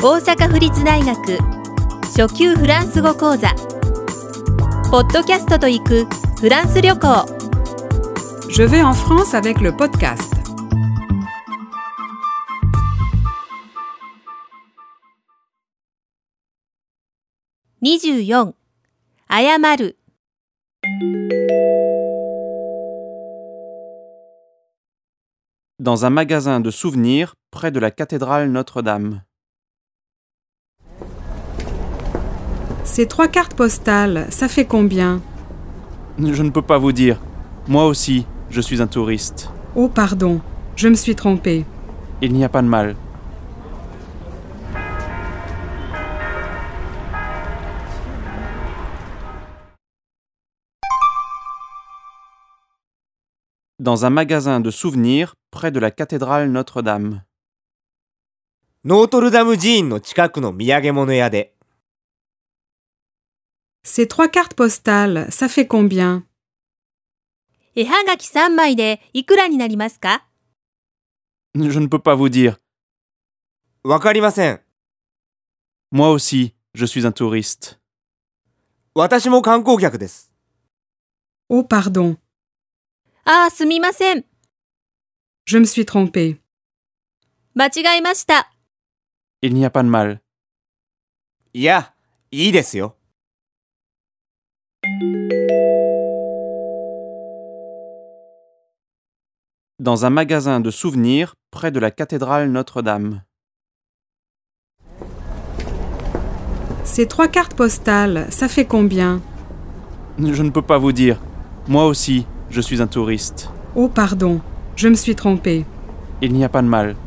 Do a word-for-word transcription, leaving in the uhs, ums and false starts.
大阪府立大学初級フランス語講座ポッドキャストと行くフランス旅行 Je vais en France avec le podcast. にじゅうよん謝る Dans un magasin de souvenirs près de la cathédrale Notre-Dame. Ces trois cartes postales, ça fait combien? Je ne peux pas vous dire. Moi aussi, je suis un touriste. Oh pardon, je me suis trompée. Il n'y a pas de mal. Dans un magasin de souvenirs près de la cathédrale Notre-Dame. ノートルダム寺院の近くの土産物屋で。 Ces trois cartes postales, ça fait combien? 絵はがきさんまいでいくらになりますか Je ne peux pas vous dire. わかりません。 Moi aussi, je suis un touriste. 私も観光客です。 Oh pardon, ああ、すみません。 je me suis trompée. 間違えました。 Il n'y a pas de mal. いや、いいですよ。 Dans un magasin de souvenirs près de la cathédrale Notre-Dame. Ces trois cartes postales, ça fait combien? Je ne peux pas vous dire. Moi aussi, je suis un touriste. Oh pardon, je me suis trompée. Il n'y a pas de mal.